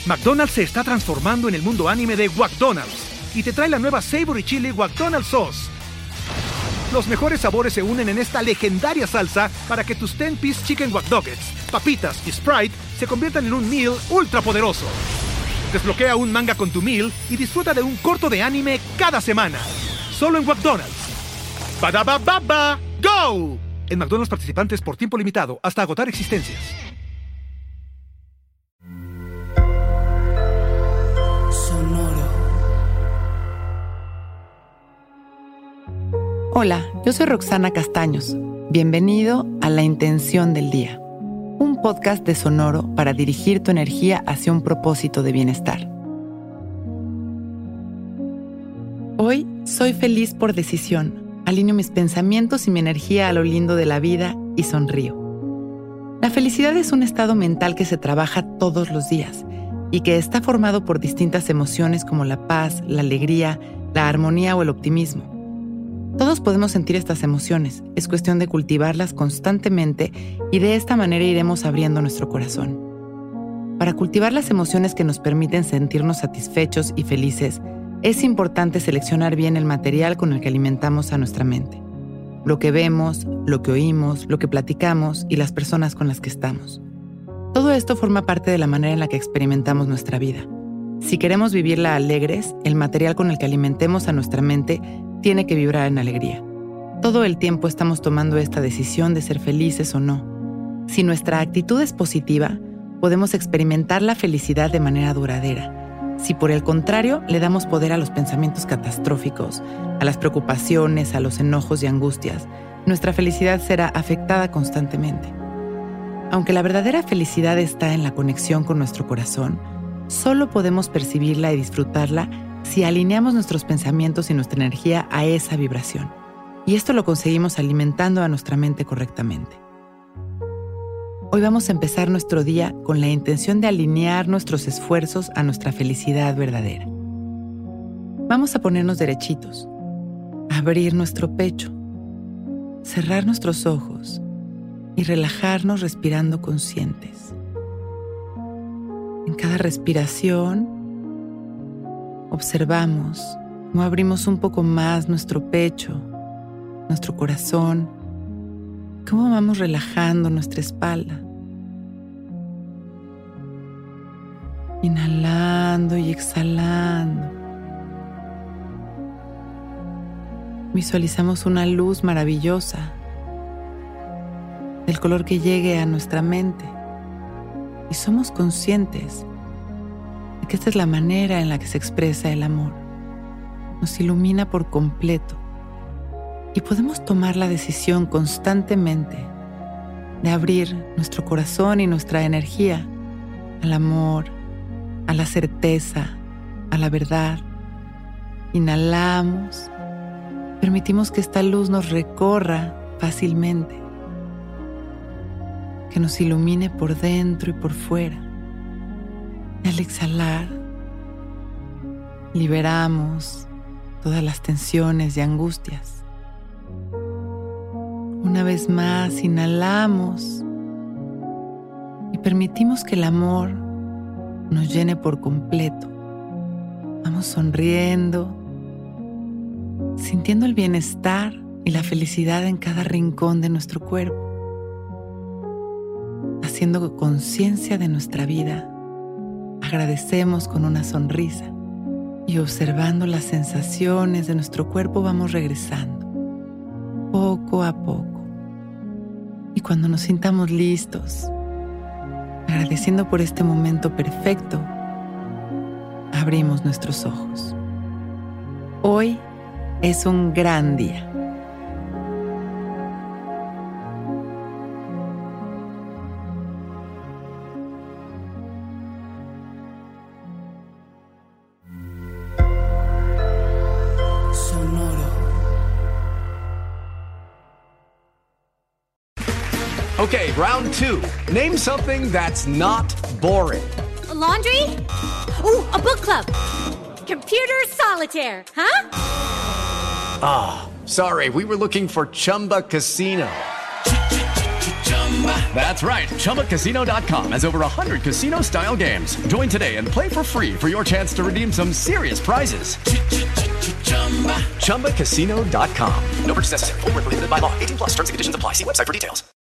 McDonald's se está transformando en el mundo anime de McDonald's y te trae la nueva Savory Chili McDonald's Sauce. Los mejores sabores se unen en esta legendaria salsa para que tus 10-piece chicken wack nuggets, papitas y Sprite se conviertan en un meal ultra poderoso. Desbloquea un manga con tu meal y disfruta de un corto de anime cada semana. Solo en McDonald's. ¡Badaba baba! ¡Go! En McDonald's participantes por tiempo limitado hasta agotar existencias. Hola, yo soy Roxana Castaños. Bienvenido a La Intención del Día, un podcast de Sonoro para dirigir tu energía hacia un propósito de bienestar. Hoy soy feliz por decisión. Alineo mis pensamientos y mi energía a lo lindo de la vida y sonrío. La felicidad es un estado mental que se trabaja todos los días y que está formado por distintas emociones como la paz, la alegría, la armonía o el optimismo. Todos podemos sentir estas emociones, es cuestión de cultivarlas constantemente y de esta manera iremos abriendo nuestro corazón. Para cultivar las emociones que nos permiten sentirnos satisfechos y felices, es importante seleccionar bien el material con el que alimentamos a nuestra mente. Lo que vemos, lo que oímos, lo que platicamos y las personas con las que estamos. Todo esto forma parte de la manera en la que experimentamos nuestra vida. Si queremos vivirla alegres, el material con el que alimentemos a nuestra mente tiene que vibrar en alegría. Todo el tiempo estamos tomando esta decisión de ser felices o no. Si nuestra actitud es positiva, podemos experimentar la felicidad de manera duradera. Si por el contrario le damos poder a los pensamientos catastróficos, a las preocupaciones, a los enojos y angustias, nuestra felicidad será afectada constantemente. Aunque la verdadera felicidad está en la conexión con nuestro corazón, solo podemos percibirla y disfrutarla si alineamos nuestros pensamientos y nuestra energía a esa vibración. Y esto lo conseguimos alimentando a nuestra mente correctamente. Hoy vamos a empezar nuestro día con la intención de alinear nuestros esfuerzos a nuestra felicidad verdadera. Vamos a ponernos derechitos, abrir nuestro pecho, cerrar nuestros ojos y relajarnos respirando conscientes. En cada respiración, observamos cómo abrimos un poco más nuestro pecho, nuestro corazón, cómo vamos relajando nuestra espalda. Inhalando y exhalando. Visualizamos una luz maravillosa, del color que llegue a nuestra mente, y somos conscientes que esta es la manera en la que se expresa el amor. Nos ilumina por completo y podemos tomar la decisión constantemente de abrir nuestro corazón y nuestra energía al amor, a la certeza, a la verdad. Inhalamos, permitimos que esta luz nos recorra fácilmente, que nos ilumine por dentro y por fuera. Al exhalar, liberamos todas las tensiones y angustias. Una vez más, inhalamos y permitimos que el amor nos llene por completo. Vamos sonriendo, sintiendo el bienestar y la felicidad en cada rincón de nuestro cuerpo, haciendo conciencia de nuestra vida. Agradecemos con una sonrisa y observando las sensaciones de nuestro cuerpo vamos regresando, poco a poco. Y cuando nos sintamos listos, agradeciendo por este momento perfecto, abrimos nuestros ojos. Hoy es un gran día. Okay, round two. Name something that's not boring. A laundry? Ooh, a book club. Computer solitaire, huh? Ah, sorry, we were looking for Chumba Casino. That's right. ChumbaCasino.com has over 100 casino-style games. Join today and play for free for your chance to redeem some serious prizes. ChumbaCasino.com. No purchase necessary. Void where prohibited by law. 18+. Terms and conditions apply. See website for details.